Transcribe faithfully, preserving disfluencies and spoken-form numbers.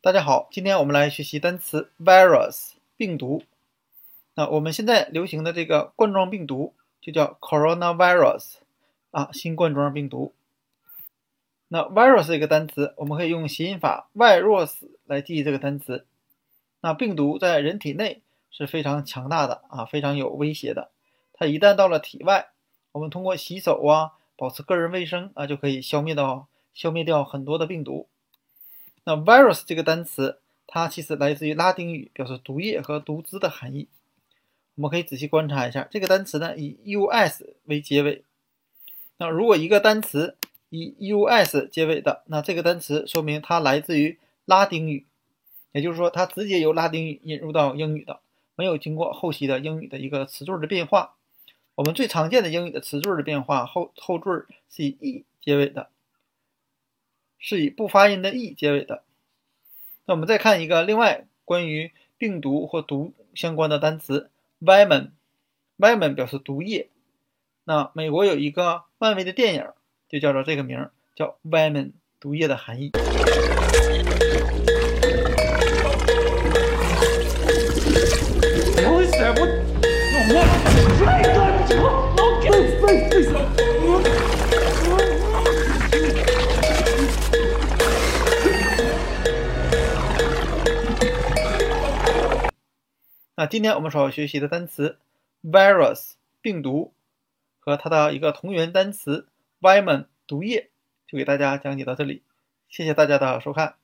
大家好，今天我们来学习单词 virus 病毒。那我们现在流行的这个冠状病毒就叫 coronavirus 啊，新冠状病毒。那 virus 这个单词，我们可以用谐音法 virus 来记忆这个单词。那病毒在人体内是非常强大的啊，非常有威胁的。它一旦到了体外，我们通过洗手啊，保持个人卫生啊，就可以消灭到消灭掉很多的病毒。那 virus 这个单词，它其实来自于拉丁语，表示毒液和毒汁的含义。我们可以仔细观察一下，这个单词呢以 us 为结尾。那如果一个单词以 us 结尾的，那这个单词说明它来自于拉丁语，也就是说它直接由拉丁语引入到英语的，没有经过后期的英语的一个词缀的变化。我们最常见的英语的词缀的变化，后后缀是以 e 结尾的，是以不发音的 e 结尾的。那我们再看一个另外关于病毒或毒相关的单词 venom， venom 表示毒液。那美国有一个漫威的电影就叫做这个名，叫 venom， 毒液的含义。那今天我们所要学习的单词 virus 病毒和它的一个同源单词 venom 毒液，就给大家讲解到这里，谢谢大家的收看。